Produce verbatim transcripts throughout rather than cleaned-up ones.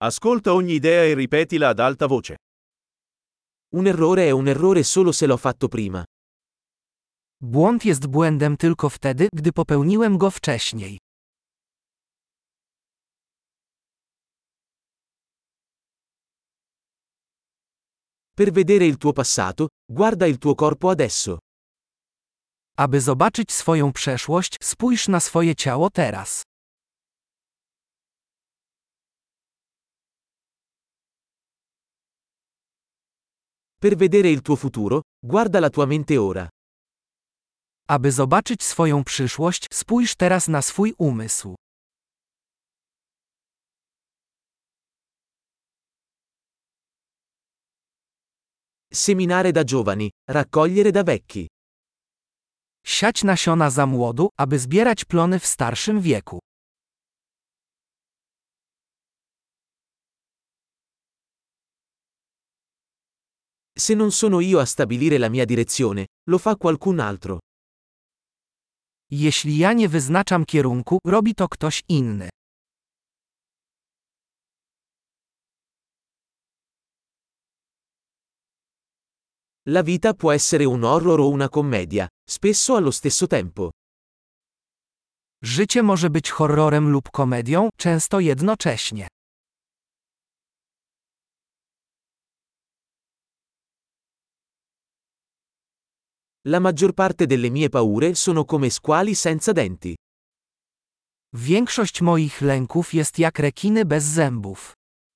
Ascolta ogni idea e ripetila ad alta voce. Un errore è un errore solo se l'ho fatto prima. Błąd jest błędem tylko wtedy, gdy popełniłem go wcześniej. Per vedere il tuo passato, guarda il tuo corpo adesso. Aby zobaczyć swoją przeszłość, spójrz na swoje ciało teraz. Per vedere il tuo futuro, guarda la tua mente ora. Aby zobaczyć swoją przyszłość, spójrz teraz na swój umysł. Seminare da giovani, raccogliere da vecchi. Siać nasiona za młodu, aby zbierać plony w starszym wieku. Se non sono io a stabilire la mia direzione, lo fa qualcun altro. Jeśli ja nie wyznaczam kierunku, robi to ktoś inny. La vita può essere un horror o una commedia, spesso allo stesso tempo. Życie może być horrorem lub komedią, często jednocześnie. La maggior parte delle mie paure sono come squali senza denti. Większość moich lęków jest jak rekiny bez zębów.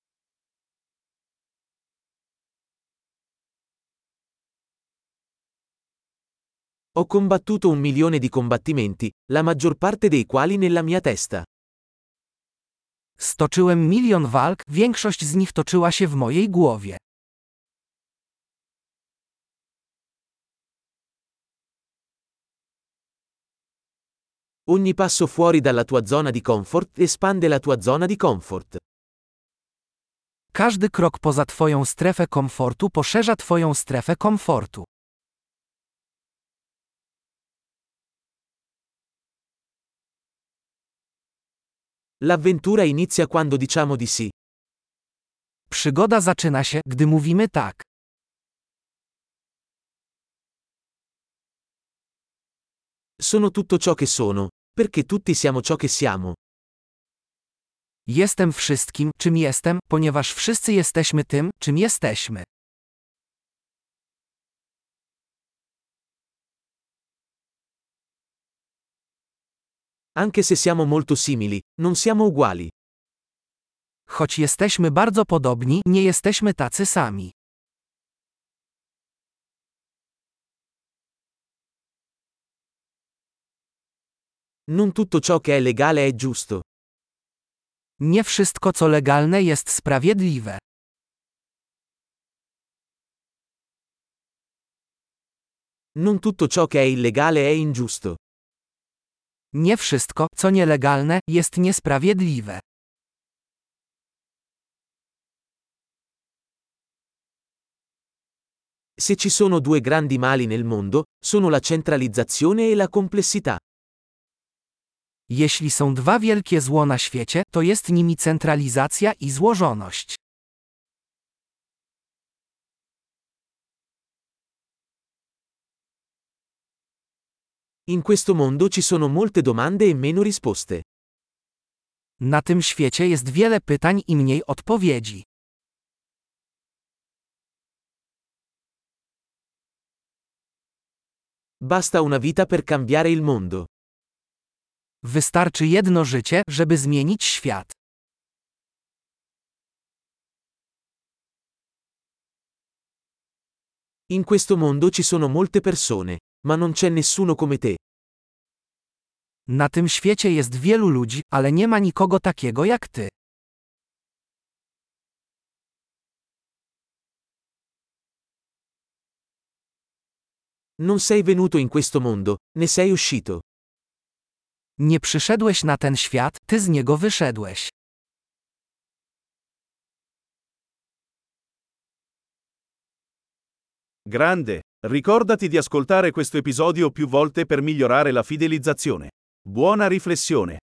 Ho combattuto un milione di combattimenti, la maggior parte dei quali nella mia testa. Stoczyłem milion walk, większość z nich toczyła się w mojej głowie. Ogni passo fuori dalla tua zona di comfort espande la tua zona di comfort. Każdy krok poza twoją strefę komfortu poszerza twoją strefę komfortu. L'avventura inizia quando diciamo di sì. Przygoda zaczyna się, gdy mówimy tak. Sono tutto ciò che sono, perché tutti siamo ciò che siamo. Jestem wszystkim, czym jestem, ponieważ wszyscy jesteśmy tym, czym jesteśmy. Anche se siamo molto simili, non siamo uguali. Choć jesteśmy bardzo podobni, nie jesteśmy tacy sami. Non tutto ciò che è legale è giusto. Nie wszystko, co legalne, jest sprawiedliwe. Non tutto ciò che è illegale è ingiusto. Nie wszystko, co nielegalne, jest niesprawiedliwe. Se ci sono due grandi mali nel mondo, sono la centralizzazione e la complessità. Jeśli są dwa wielkie zło na świecie, to jest nimi centralizacja i złożoność. In questo mondo ci sono molte domande e meno risposte. Na tym świecie jest wiele pytań i mniej odpowiedzi. Basta una vita per cambiare il mondo. Wystarczy jedno życie, żeby zmienić świat. In questo mondo ci sono molte persone, ma non c'è nessuno come te. Na tym świecie jest wielu ludzi, ale nie ma nikogo takiego jak ty. Non sei venuto in questo mondo, ne sei uscito. Nie przyszedłeś na ten świat, ty z niego wyszedłeś. Grande, ricordati di ascoltare questo episodio più volte per migliorare la fidelizzazione. Buona riflessione.